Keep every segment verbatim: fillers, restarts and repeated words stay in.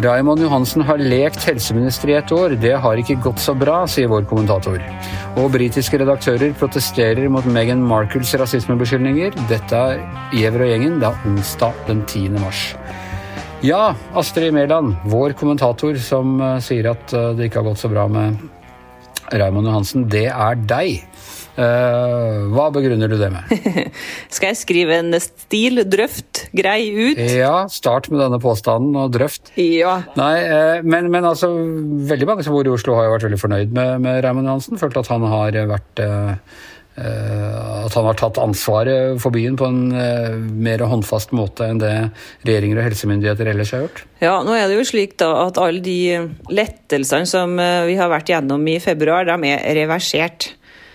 Raymond Johansen har lekt helseminister i et år. Det har ikke gått så bra, sier vår kommentator. Og britiske redaktører protesterer mot Meghan Markles rasismebeskyldninger. Dette er Gjever og gjengen, det er onsdag den tiende mars. Ja, Astrid Mæland, vår kommentator som uh, sier at uh, det ikke har gått så bra med Raymond Johansen, det er deg. Uh, hva begrunner du det med? Skal jeg skrive en stil, drøft, grei ut? Ja, start med denne påstanden og drøft. Ja. Nei, uh, men, men altså, veldig mange som bor i Oslo har jo vært veldig fornøyd med, med Raymond Johansen. Følt at han har vært uh, uh, at han har tatt ansvaret for byen på en uh, mer håndfast måte enn det regjeringer og helsemyndigheter ellers har gjort. Ja, nå er det jo slik da at alle de lettelsene som uh, vi har vært gjennom i februar, de er reversert.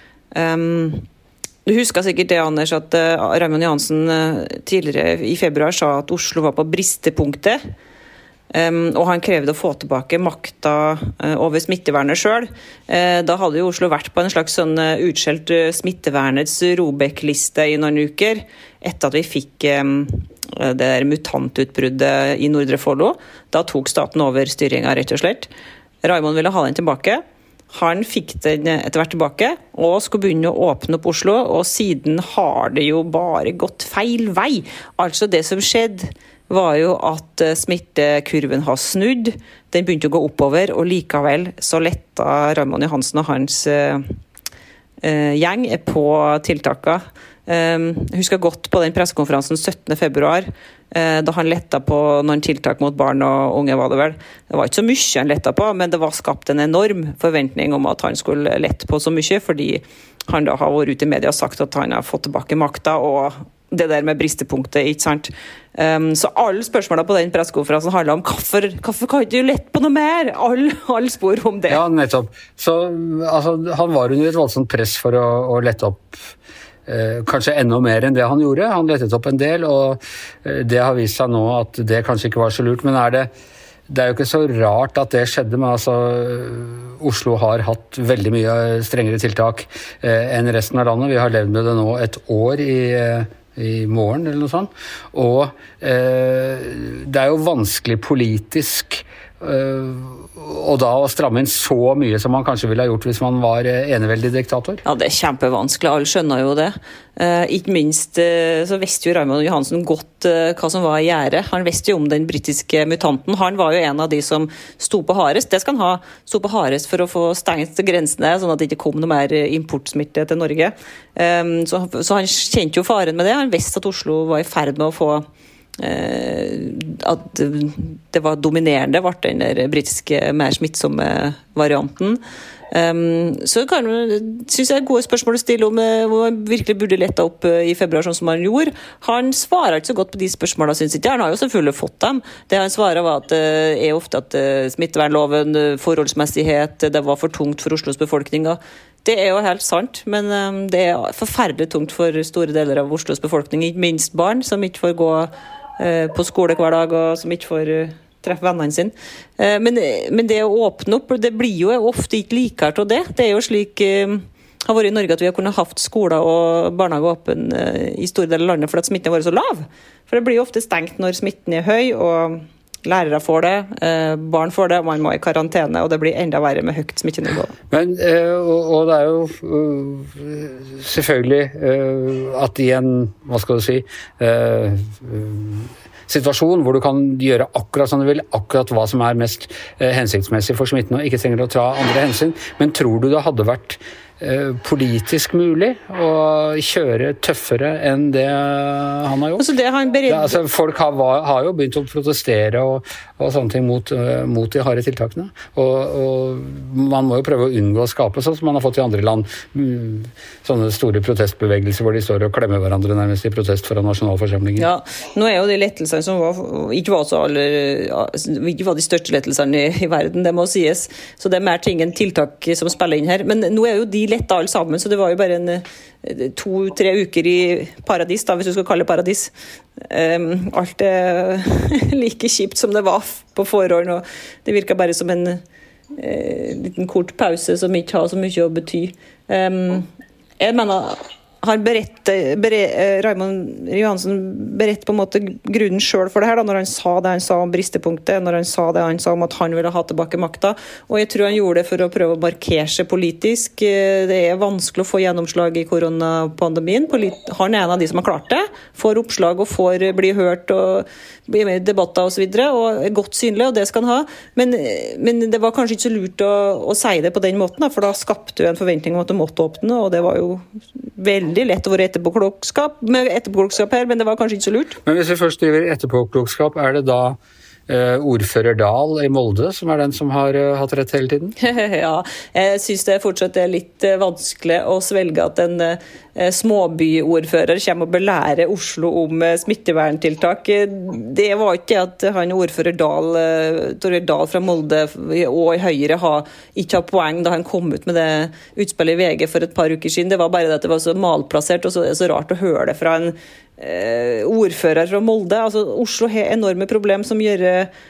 Um, du husker sikkert det, Anders, at uh, Raymond Johansen uh, tidligere i februar sa at Oslo var på bristepunktet, um, og han krevde å få tilbake makta uh, over smittevernet selv. Uh, da hadde jo Oslo vært på en slags sånn uh, utskjelt uh, smittevernets Robek-liste i noen uker, etter at vi fikk um, det der mutantutbruddet i Nordre Follo. Da tok staten over styringen, rett og slett. Raymond ville ha den tilbake. Han fikk den etter hvert tilbake, og skulle begynne å åpne opp Oslo, og siden har det jo bare gått feil vei. Altså det som skjedde var jo at smittekurven har snudd, den begynte å gå oppover, og likevel så letta Raymond Johansen og hans uh, uh, gjeng på tiltakene. Um, jeg husker godt på den pressekonferansen syttende februar, uh, da han letta på noen tiltak mot barn og unge, var det vel. Det var ikke så mye han letta på, men det var skapt en enorm forventning om at han skulle lette på så mye, fordi han da har vært ute i media og sagt at han har fått tilbake makta, og det der med bristepunktet, ikke sant? Um, så alle spørsmålene på den pressekonferansen handler om hvorfor, hvorfor kan ikke du lette på noe mer? Alle, alle spor om det. Ja, nettopp. Så altså, han var under et voldsomt press for å, å lette opp Eh, kanskje enda mer enn det han gjorde. Han lettet opp en del, og eh, det har vist seg nå at det kanskje ikke var så lurt. Men er det, det er jo ikke så rart at det skjedde, men altså, Oslo har hatt veldig mye strengere tiltak eh, enn resten av landet. Vi har levd med det nå et år i, eh, i morgen, eller noe sånt. Og eh, det er jo vanskelig politisk Uh, og da å stramme inn så mye som man kanskje ville ha gjort hvis man var eneveldig diktator. Ja, det er kjempevanskelig, alle skjønner jo det. Uh, ikke minst uh, så visste jo Raymond Johansen godt uh, hva som var i gjære. Han visste jo om den britiske mutanten. Han var jo en av de som sto på hardest. Det skal han ha, sto på hardest for å få stengt grensene, sånn at det ikke kom noe mer importsmitte til Norge. Um, så, så han kjente jo faren med det. Han visste at Oslo var i ferd med å få at det var dominerende, ble den der britiske mer smittsomme varianten. Um, så kan, synes jeg er gode spørsmål å stille om hvor man virkelig burde lette opp i februar sånn som han gjorde. Han svarer ikke så godt på de spørsmålene, synes ikke. Han har jo selvfølgelig fått dem. Det han svarer var at uh, er ofte at uh, smittevernloven, forholdsmessighet, det var for tungt for Oslos befolkning. Det er jo helt sant, men um, det er forferdelig tungt for store deler av Oslos befolkning, ikke minst barn som ikke får gå på skole hver dag, og som ikke får uh, treffe vennene sine. Uh, men, men det å åpne opp, det blir jo ofte ikke likert av det. Det er jo slik uh, har vært i Norge at vi har kunnet haft skoler og barnehager åpen uh, i store deler av landet fordi at smitten har vært så lav. For det blir jo ofte stengt når smitten er høy, og lærere får det, uh, barn får det, og man må i karantene, og det blir enda verre med høyt smittenivå. Men, uh, og, og det er jo uh, selvfølgelig uh, at i en, hva skal du si, uh, uh, situasjon hvor du kan gjøre akkurat som du vil, akkurat hva som er mest uh, hensiktsmessig for smitten, og ikke trenger å ta andre hensyn, men tror du det hadde vært politisk mulig å kjøre tøffere enn det han har gjort? Altså det han bered... ja, altså folk har, har jo begynt å protestere og, og sånne ting mot, uh, mot de harde tiltakene. Og, og man må jo prøve å unngå å skape sånn som man har fått i andre land. Mm, sånne store protestbevegelser hvor de står og klemmer hverandre nærmest i protest foran nasjonalforsamlingen. Ja, nå er jo de lettelsene som var, ikke var så alle, ikke var de største lettelsene i, i verden, det må sies. Så det er mer ting enn tiltak som spiller inn her. Men nå er jo de letta alle sammen, så det var jo bare en to-tre uker i paradis, da, hvis du skal kalle det paradis. Um, alt er like kjipt som det var på forhånd, og det virker bare som en uh, liten kort pause som ikke har så mye å bety. Um, jeg mener, han beredt Raymond Johansen beredt på en måte grunnen selv for det her, da, når han sa det han sa om bristepunktet, når han sa det han sa om at han ville ha tilbake makta, og jeg tror han gjorde det for å prøve å markere seg politisk. Det er vanskelig å få gjennomslag i koronapandemien. Han er en av de som har klart det, får oppslag og får bli hørt og bli med i debatter og så videre, og er godt synlig, og det skal han ha. Men, men det var kanskje ikke så lurt å, å si det på den måten, da, for da skapte du en forventning om at du måtte åpne, og det var jo veldig lett å være etterpåklokskap, med etterpåklokskap her, men det var kanskje ikke så lurt. Men hvis vi først driver etterpåklokskap, er det da Uh, ordfører Dahl i Molde, som er den som har uh, hatt rett hele tiden? Ja, jeg synes det fortsatt er litt uh, vanskelig å svelge at en uh, småbyordfører kommer og belærer Oslo om uh, smitteverntiltak. Det var ikke at han ordfører Dahl, uh, Torgeir Dahl fra Molde og i Høyre har ikke har poeng da han kom ut med det utspillet i V G for et par uker siden. Det var bare det at det var så malplassert, og så, så rart å høre det fra en Uh, ordfører fra Molde. Altså, Oslo har enorme problem som gjør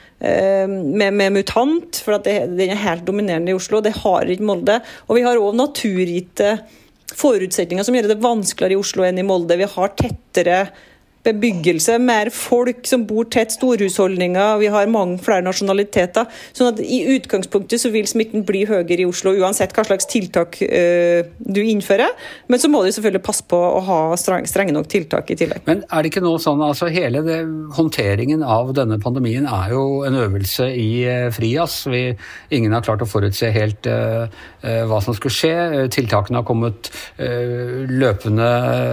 uh, med, med mutant, for at det, den er helt dominerende i Oslo. Det har ikke Molde. Og vi har også naturgitte forutsetninger som gjør det vanskeligere i Oslo enn i Molde. Vi har tettere bebyggelse, mer folk som bor tett, storhusholdninger, vi har mange flere nasjonaliteter. Sånn at i utgangspunktet så vil smitten bli høyere i Oslo, uansett hva slags tiltak uh, du innfører. Men så må du selvfølgelig passe på å ha strenge, strenge nok tiltak i tillegg. Men er det ikke noe sånn, altså hele det, håndteringen av denne pandemien er jo en øvelse i uh, frias. Vi, ingen har klart å forutse helt uh, uh, hva som skulle skje. Tiltakene har kommet uh, løpende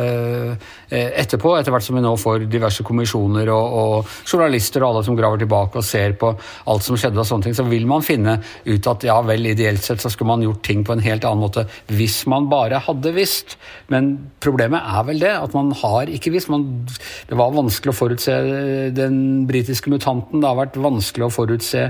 uh, etterpå, etter hvert som vi nå får diverse kommisjoner og, og journalister og alle som graver tilbake og ser på alt som skjedde og sånne ting, så vil man finne ut at ja vel, ideelt sett så skulle man gjort ting på en helt annen måte hvis man bare hadde visst. Men problemet er vel det, at man har ikke visst. Man, det var vanskelig å forutse den britiske mutanten, det har vært vanskelig å forutse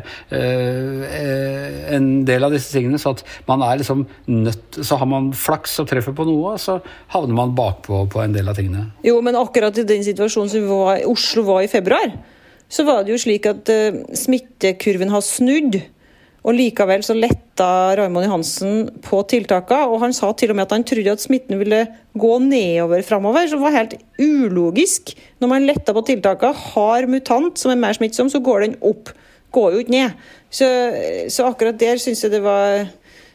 uh, en del av disse tingene, så at man er liksom nødt, så har man flaks og treffer på noe, så havner man bakpå på en del av tingene. Jo, men akkurat i den situasjonen som var, Oslo var i februar, så var det jo slik at uh, smittekurven har snudd, og likevel så letta Raymond Johansen på tiltakene, og han sa til og med at han trodde at smitten ville gå nedover fremover, så det var helt ulogisk. Når man letta på tiltakene, har mutant som er mer smittsom, så går den opp, går jo ikke ned. Så, så akkurat der synes jeg det var...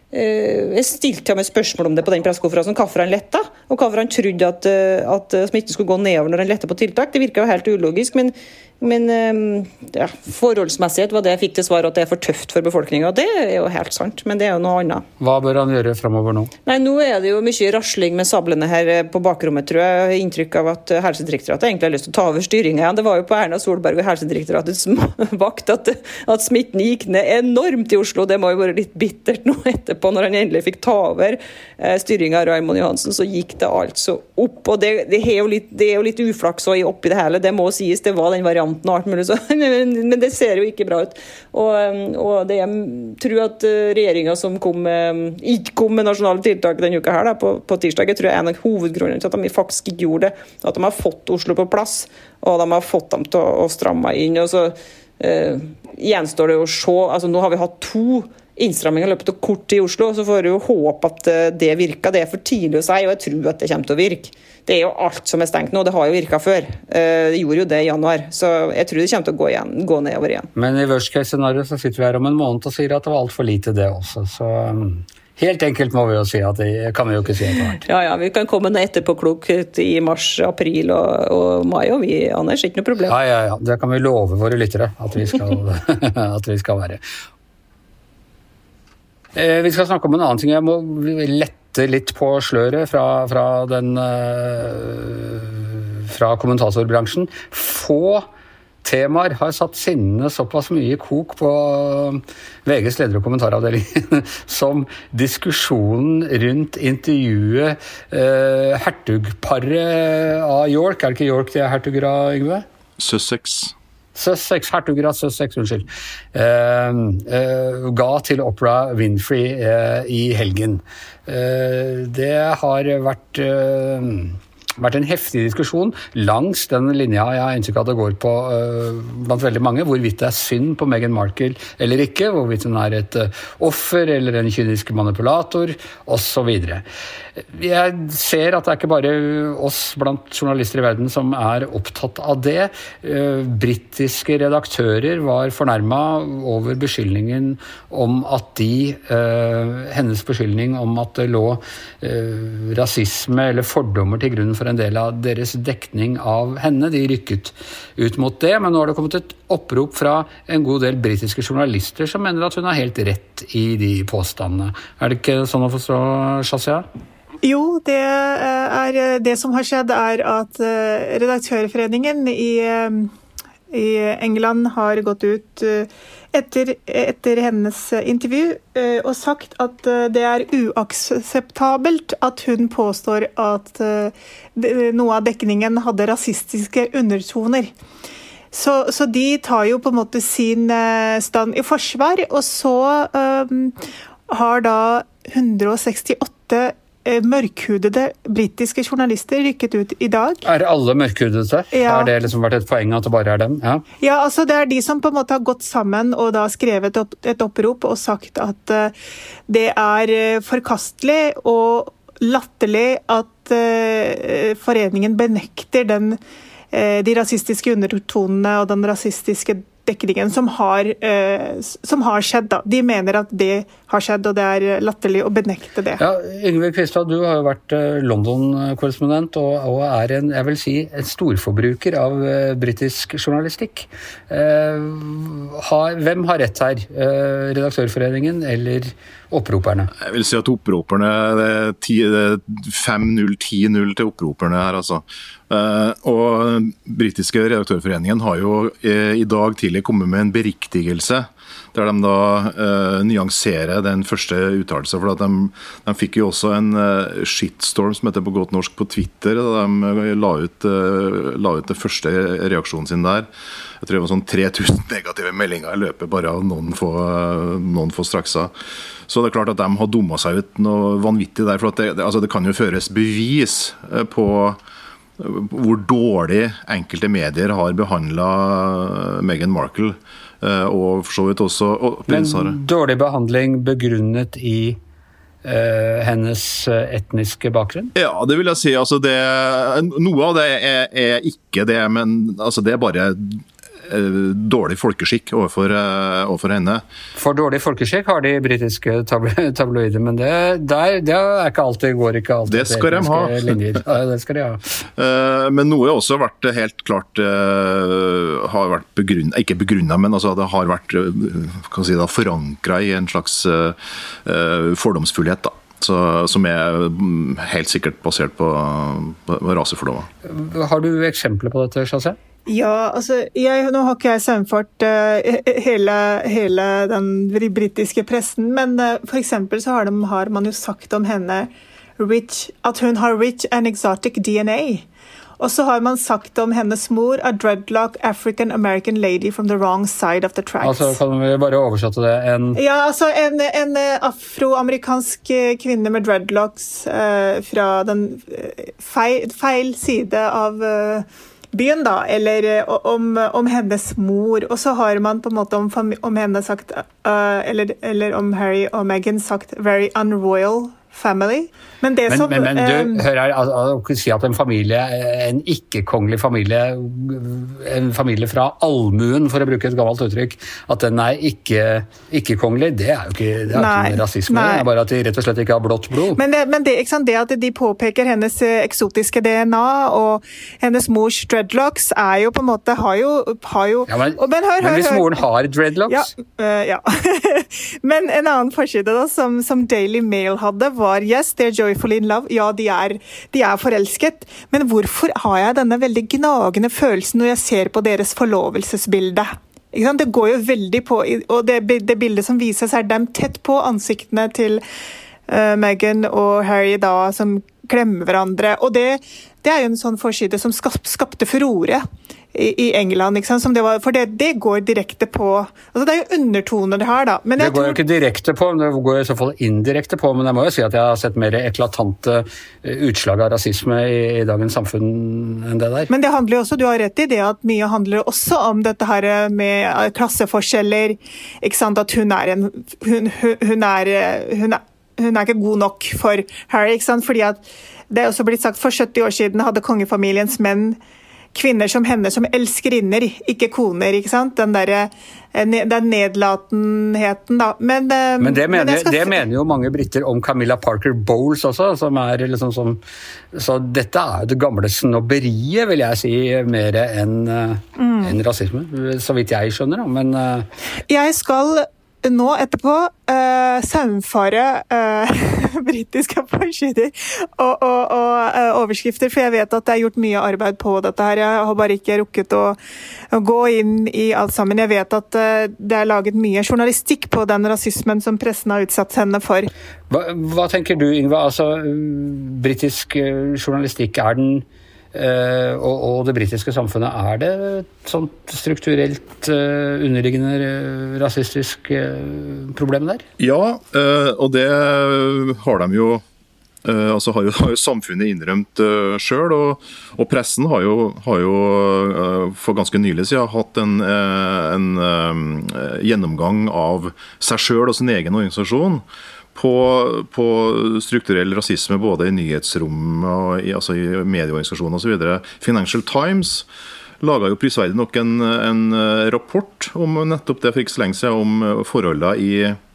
Jeg stilte ham et spørsmål om det på den pressekonferansen, hvorfor han letta, og hvorfor han trodde at, at smitten skulle gå nedover når han letta på tiltak. Det virket jo helt ulogisk, men, men ja, forholdsmessighet var det jeg fikk til svar, at det er for tøft for befolkningen. Det er jo helt sant, men det er jo noe annet. Hva bør han gjøre fremover nå? Nei, nå er det jo mye rasling med sablene her på bakrommet, tror jeg. Jeg har inntrykk av at Helsedirektoratet egentlig har lyst til å ta over styringen igjen. Det var jo på Erna Solberg og Helsedirektoratets vakt at, at smitten gikk ned enormt i Oslo. Det må jo være litt bittert nå etterpå. På når han endelig fikk ta over eh, styringen av Raymond Johansen, så gikk det altså opp, og det, det, er, jo litt, det er jo litt uflaks oppi det hele, det må sies, det var den varianten og alt mulig, så, men, men det ser jo ikke bra ut, og, og det jeg tror at regjeringen som kom med, ikke kom med nasjonale tiltak denne uka her da, på, på tirsdag, jeg tror jeg er en av hovedgrunnene til at de faktisk ikke gjorde det, at de har fått Oslo på plass, og de har fått dem til å, å stramme inn, og så eh, gjenstår det å se, altså nå har vi hatt to innstramming har løpet av kort i Oslo, så får du jo håpe at det virker. Det er for tidlig å si, og jeg tror at det kommer til å virke. Det er jo alt som er stengt nå, det har jo virket før. Det gjorde jo det i januar, så jeg tror det kommer til å gå, igjen, gå nedover igjen. Men i worst case scenario så sitter vi her om en måned og sier at det var alt for lite det også, så helt enkelt må vi jo si at det kan vi jo ikke si etter hvert. Ja, ja, vi kan komme ned etterpåklokt i mars, april og, og mai, og vi, Anders, ikke noe problem. Ja, ja, ja, det kan vi love våre lyttere at vi skal, at vi skal være. Eh, vi skal snakke om en annen ting. Jeg må lette litt på sløret fra, fra, den, uh, fra kommentatorbransjen. Få temaer har satt sinnene såpass mye i kok på V G's leder- og kommentaravdeling som diskusjonen rundt intervjuet uh, hertugparet av York. Er det ikke York de er hertuger av, Yngve? Sussex. Sussex, hertuger av Sussex, unnskyld, uh, uh, ga til Oprah Winfrey uh, i helgen. Uh, det har vært uh, vært en heftig diskusjon langs den linja jeg har inntrykk av det går på uh, blant veldig mange, hvorvidt det er synd på Meghan Markle eller ikke, hvorvidt hun er et uh, offer eller en kynisk manipulator, og så videre. Jeg ser at det er ikke bare oss blant journalister i verden som er opptatt av det. Uh, Britiske redaktører var fornærmet over beskyldningen om at de, uh, hennes beskyldning om at det lå uh, rasisme eller fordommer til grunn for en del av deres dekning av henne. De rykket ut mot det, men nå har det kommet et opprop fra en god del britiske journalister som mener at hun har helt rett i de påstandene. Er det ikke sånn å forstå, Shazia? Jo, det er det som har skjedd er at redaktørforeningen i, i England har gått ut etter, etter hennes intervju og sagt at det er uakseptabelt at hun påstår at noe av dekningen hadde rasistiske undertoner. Så, så de tar jo på en måte sin stand i forsvar, og så um, har da hundre sekstiåtte mørkhudede britiske journalister rykket ut i dag. Er alle mørkhudede? Ja. Har det liksom vært et poeng at det bare er dem? Ja. Ja, altså det er de som på en måte har gått sammen og da skrevet opp, et opprop og sagt at uh, det er uh, forkastelig og latterlig at uh, foreningen benekter den, uh, de rasistiske undertonene og den rasistiske dekningen som har, uh, som har skjedd. Da. De mener at det har skjedd, og det er latterlig å benekte det. Ja, Yngve Kvistad, du har jo vært London-korrespondent og, og er en, jeg vil si, en storforbruker av uh, britisk journalistikk. Uh, har, hvem har rett her? Uh, redaktørforeningen eller opproperne? Jeg vil si at opproperne, det er fem null ti null til opproperne her, altså. Uh, og britiske redaktørforeningen har jo uh, i dag tidlig kommet med en beriktigelse der de da uh, nyanserer den første uttalelsen, for at de, de fikk jo også en uh, shitstorm som heter på godt norsk på Twitter, da de la ut, uh, la ut det første reaksjonen sin der. Jeg tror det var sånn tre tusen negative meldinger i løpet bare av noen få, uh, noen få strakser. Så det er klart at de har dummet seg ut noe vanvittig der, for at det, det, altså det kan jo føres bevis uh, på hvor dårlig enkelte medier har behandlet Meghan Markle, og for så vidt også prins Harry. Men dårlig behandling begrunnet i uh, hennes etniske bakgrunn? Ja, det vil jeg si. Altså det, noe av det er, er ikke det, men altså det er bare dårlig folkeskikk overfor, overfor henne. For dårlig folkeskikk har de britiske tabloider, men det, der, det er ikke alltid, går ikke alltid. Det skal de ha. Linjer. Ja, det skal de ha. Men noe har også vært helt klart, har vært begrunnet, ikke begrunnet, men altså det har vært kan si da, forankret i en slags fordomsfullhet da. Så, som er helt sikkert basert på, på rasefordommer. Har du eksempler på dette, Shazia? Ja, altså, jeg, nå har ikke jeg sammenfart uh, hele, hele den britiske pressen, men uh, for eksempel så har, de, har man jo sagt om henne rich, at hun har rich and exotic D N A. Og så har man sagt om hennes mor, a dreadlock African-American lady from the wrong side of the tracks. Altså, kan vi bare oversette det? En... Ja, altså en, en afroamerikansk kvinne med dreadlocks uh, fra den feil, feil side av uh, byen da, eller uh, om, om hennes mor. Og så har man på en måte om, om henne sagt, uh, eller, eller om Harry og Meghan sagt, very unroyal family. Men det men, som... Men, men du, um, hør her, å si at en familie, en ikke-kongelig familie, en familie fra allmuen, for å bruke et gammelt uttrykk, at den er ikke, ikke-kongelig, det er jo ikke, det er nei, ikke rasisme, nei. Det er bare at de rett og slett ikke har blått blod. Men det, men det, ikke sant, det at de påpeker hennes eksotiske D N A, og hennes mors dreadlocks er jo på en måte, har jo... Har jo ja, men, og, men, hør, men hør, hvis hør. moren har dreadlocks? Ja, uh, ja. Men en annen forside da, som, som Daily Mail hadde, var yes, they're joyfully in love. Ja, de er, de er forelsket. Men hvorfor har jeg denne veldig gnagende følelsen når jeg ser på deres forlovelsesbilde? Ikke sant? Det går jo veldig på, og det, det bildet som vises er dem tett på ansiktene til uh, Meghan og Harry da, som klemmer hverandre. Og det, det er jo en sånn forside som skap, skapte furore i England, ikke sant? Som det var, for det, det går direkte på, altså det er jo undertoner her da. Men det jeg går tror, jo ikke direkte på, men det går i så fall indirekte på, men jeg må jo si at jeg har sett mer eklatante utslag av rasisme i, i dagens samfunn enn det der. Men det handler jo også, du har rett i det, at mye handler også om dette her med klasseforskjeller, ikke sant, at hun er en, hun, hun er, hun er, hun er ikke god nok for Harry, ikke sant, fordi at det er også blitt sagt for sytti år siden hadde kongefamiliens menn kvinner som henne som elskerinner, ikke koner, ikke sant? Den der, den nedlatenheten da. Men, men, det, mener, men skal... det mener jo mange britter om Camilla Parker Bowles også, som er liksom som, så dette er jo det gamle snobberiet, vil jeg si, mer enn mm. en rasisme, så vidt jeg skjønner. Men jeg skal nå etterpå uh, saumfare uh, britiske forsider og, og, og uh, overskrifter, for jeg vet at det er gjort mye arbeid på dette her. Jeg har bare ikke rukket å, å gå inn i alt sammen. Jeg vet at uh, det er laget mye journalistikk på den rasismen som pressen har utsatt henne for. Hva, hva tenker du, Yngve? Altså, britisk journalistikk, er den Uh, og, og det britiske samfunnet, er det et sånt strukturelt uh, underliggende uh, rasistisk uh, problem der? Ja, uh, og det har de jo, uh, altså har jo, har jo samfunnet innrømt uh, selv, og, og pressen har jo, har jo uh, for ganske nylig siden hatt en, uh, en uh, gjennomgang av seg selv og sin egen organisasjon, På, på strukturell rasisme både i nyhetsrom og i, altså i medieorganisasjoner og så videre. Financial Times laget jo prisverdig nok en, en rapport om nettopp det for ikke så lenge siden, om forholdene i,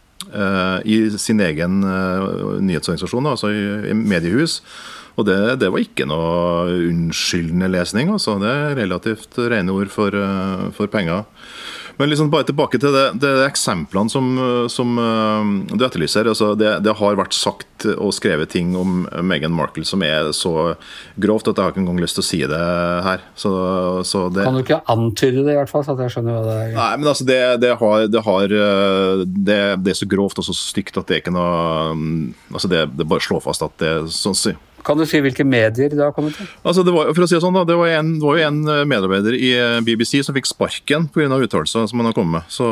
uh, i sin egen uh, nyhetsorganisasjon, altså i, i mediehus. Og det, det var ikke noe unnskyldende lesning, altså. Det er relativt rene ord for, uh, for penger. Men liksom bare tilbake til det, det eksemplene som, som du etterlyser. Altså det, det har vært sagt og skrevet ting om Meghan Markle som er så grovt at jeg har ikke engang lyst til å si det her. Så, så det... Kan du ikke antyde det i hvert fall, så at jeg skjønner hva det er? Nei, men altså det, det, har, det, har, det, det er så grovt og så stygt at det er ikke noe... Altså det, det bare slår fast at det er sånn å si. Kan du si hvilke medier det har kommet til? Altså det var, for å si det sånn da, det var, en, det var jo en medarbeider i B B C som fikk sparken på grunn av uttalelser som han har kommet med. Så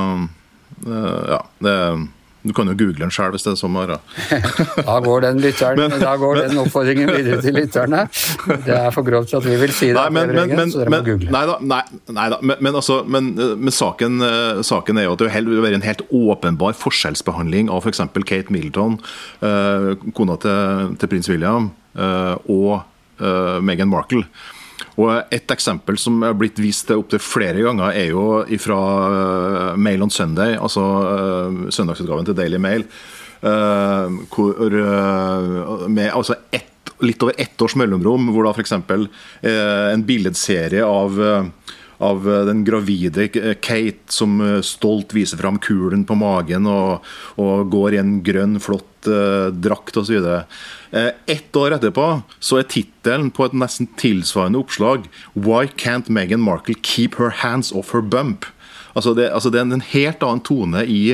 ja, det, du kan jo google den selv hvis det er sånn. Da går den lytteren, men, da går den oppfordringen videre til lytterne. Det er for grovt at vi vil si det. Nei, men, men, men, så dere må men, google. Nei da, nei, nei da, men, men, altså, men, men saken, saken er jo at det vil være en helt åpenbar forskjellsbehandling av for eksempel Kate Middleton, uh, kona til, til prins William, uh, og uh, Meghan Markle. Og et eksempel som er blitt vist opp til flere ganger er jo fra Mail on Sunday, altså søndagsutgaven til Daily Mail, hvor med altså ett, litt over ett års mellomrom, hvor da for eksempel en billedserie av av den gravide Kate som stolt viser frem kulen på magen og, og går i en grønn, flott uh, drakt og så videre. Uh, ett år etterpå så er titelen på et nesten tilsvarende oppslag «Why can't Meghan Markle keep her hands off her bump?» Altså det, altså det er en helt annen tone i,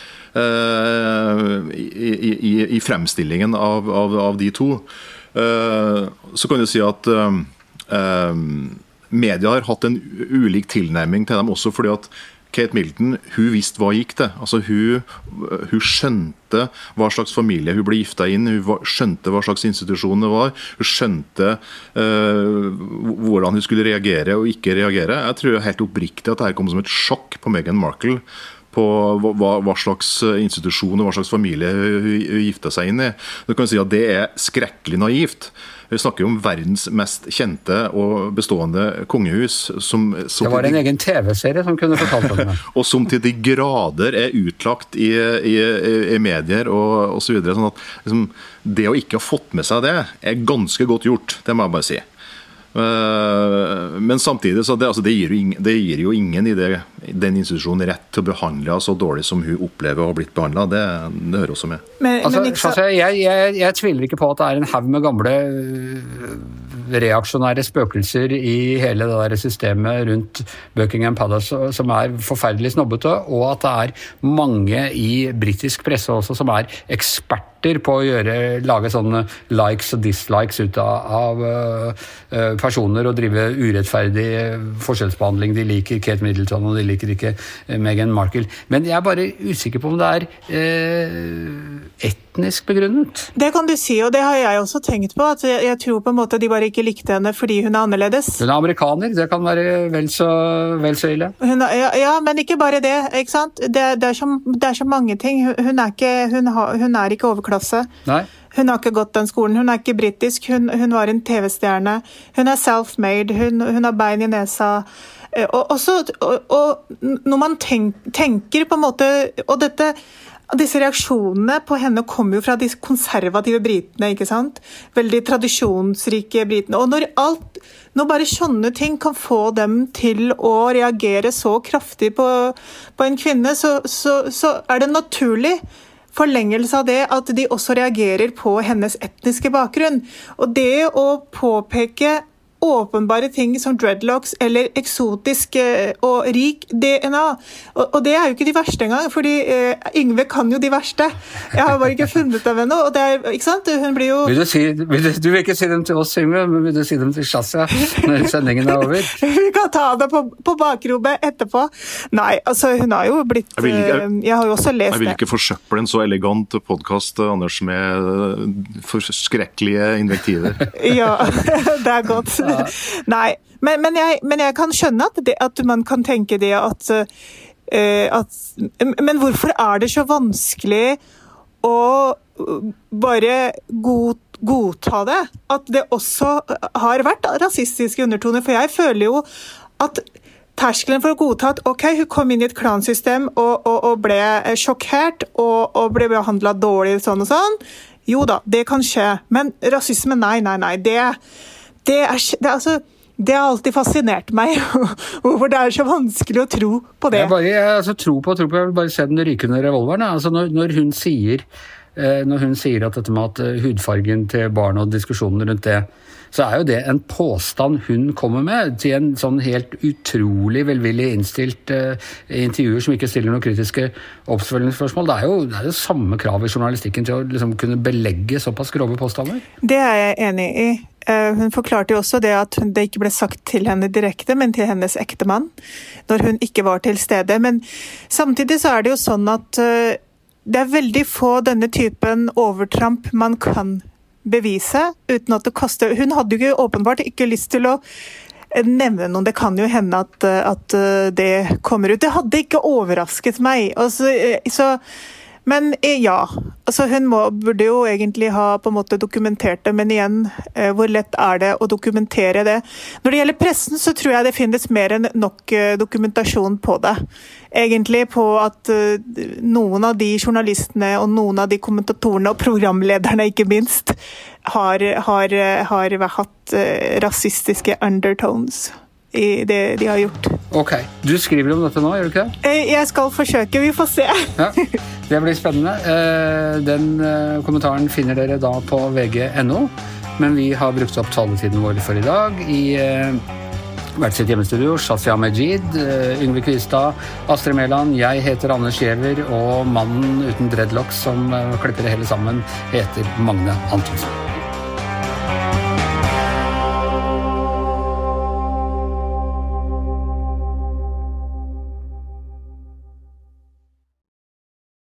uh, i, i, i fremstillingen av, av, av de to. Uh, så kan du si at uh, uh, media har hatt en ulik tilnærming til dem også, fordi at Kate Middleton, hun visste hva gikk til. Altså hun, hun skjønte hva slags familie hun ble giftet inn, hun skjønte hva slags institusjon det var, hun skjønte uh, hvordan hun skulle reagere og ikke reagere. Jeg tror helt oppriktig at dette kom som et sjokk på Meghan Markle, på hva, hva slags institusjon og hva slags familie hun giftet seg inn i. Du kan si at det er skrekkelig naivt. Vi snakker jo om verdens mest kjente og bestående kongehus. Som, som det var en de, egen T V-serie som kunne fortalt om det. Og som til de grader er utlagt i, i, i medier og, og så videre. Sånn at liksom, det å ikke ha fått med seg det er ganske godt gjort, det må jeg bare si. Men samtidig så det, altså det, gir jo ingen, det gir jo ingen i det, den institusjonen rett til å behandle så dårlig som hun opplever å ha blitt behandlet. Det, det hører også med. Men, altså, men ikke så... jeg, jeg, jeg tviler ikke på at det er en haug med gamle reaksjonære spøkelser i hele det der systemet rundt Buckingham Palace som er forferdelig snobbete, og at det er mange i britisk presse også som er eksperter eksperter på å gjøre, lage sånne likes og dislikes ut av, av uh, personer og drive urettferdig forskjellsbehandling. De liker Kate Middleton, og de liker ikke Meghan Markle. Men jeg er bare usikker på om det er uh, etnisk begrunnet. Det kan du si, og det har jeg også tenkt på, at jeg, jeg tror på en måte de bare ikke likte henne fordi hun er annerledes. Hun er amerikaner, det kan være vel så, vel så ille. Hun er, ja, ja, men ikke bare det, ikke sant? Det, det, er, så, det er så mange ting. Hun er ikke, hun har, hun er ikke overklasse. Nei. Hun har ikke gått den skolen, hun er ikke britisk, hun, hun var en T V-stjerne. Hun er self-made, hun, hun har bein i nesa. Og, og, så, og, og når man tenk, tenker på en måte, og dette... Disse reaksjonene på henne kommer jo fra de konservative britene, ikke sant? Veldig tradisjonsrike britene. Og når alt, når bare sånne ting kan få dem til å reagere så kraftig på, på en kvinne, så, så, så er det naturlig forlengelse av det at de også reagerer på hennes etniske bakgrunn. Og det å påpeke åpenbare ting som dreadlocks eller eksotisk og rik D N A. Og, og det er jo ikke de verste engang, fordi eh, Yngve kan jo de verste. Jeg har bare ikke funnet dem ennå, og det er, ikke sant? Hun blir jo... Vil du, si, vil du, du vil ikke si dem til oss, Yngve, men vil du si dem til Shazia når sendingen er over? Vi kan ta det på, på bakrommet etterpå. Nei, altså hun har jo blitt... Jeg, vil, jeg, jeg har jo også lest det. Jeg vil ikke forsøple en så elegant podcast, Anders, med forskrekkelige invektiver. Ja, det er godt. Ja. Nei, men, men, jeg, men jeg kan skjønne at, det, at man kan tenke det at, uh, at men hvorfor er det så vanskelig å bare god, godta det? At det også har vært rasistiske undertoner, for jeg føler jo at terskelen for å godta at ok, hun kom inn i et klansystem og, og, og ble sjokkert og, og ble behandlet dårlig sånn og sånn, jo da, det kan skje, men rasisme, nei, nei, nei, det Det, er, det, altså, det har alltid fascinert meg, hvorfor det er så vanskelig å tro på det. Jeg, bare, jeg altså, tror på, tror på, jeg vil bare se den rykende revolveren. Altså, når, når, hun sier, eh, når hun sier at dette med at uh, hudfargen til barn og diskusjonen rundt det, så er jo det en påstand hun kommer med til en sånn helt utrolig velvillig innstilt uh, intervjuer som ikke stiller noen kritiske oppfølgingsspørsmål. Det er jo det er jo samme krav i journalistikken til å liksom, kunne belegge såpass grove påstander. Det er jeg enig i. Hun forklarte jo også det at det ikke ble sagt til henne direkte, men til hennes ektemann, når hun ikke var til stede. Men samtidig så er det jo sånn at det er veldig få denne typen overtramp man kan bevise, uten at det koster. Hun hadde jo ikke, åpenbart ikke lyst til å nevne noen. Det kan jo hende at, at det kommer ut. Det hadde ikke overrasket meg. Altså, så... Men ja, altså hun må, burde jo egentlig ha på en måte dokumentert det, men igjen, eh, hvor lett er det å dokumentere det? Når det gjelder pressen, så tror jeg det finnes mer enn nok eh, dokumentasjon på det. Egentlig på at eh, noen av de journalistene og noen av de kommentatorene og programlederne ikke minst har, har, har hatt eh, rasistiske undertones i det de har gjort. Ok, du skriver om dette nå, gjør du ikke det? Jeg skal forsøke, vi får se. Ja, det blir spennende. Den kommentaren finner dere da på V G punktum no, men vi har brukt opp taletiden vår for i dag i hvert sitt hjemmestudio, Shazia Majid, Yngve Kvistad, Astrid Mæland, jeg heter Anders Giæver, og mannen uten dreadlocks som klipper det hele sammen heter Magne Antonsen.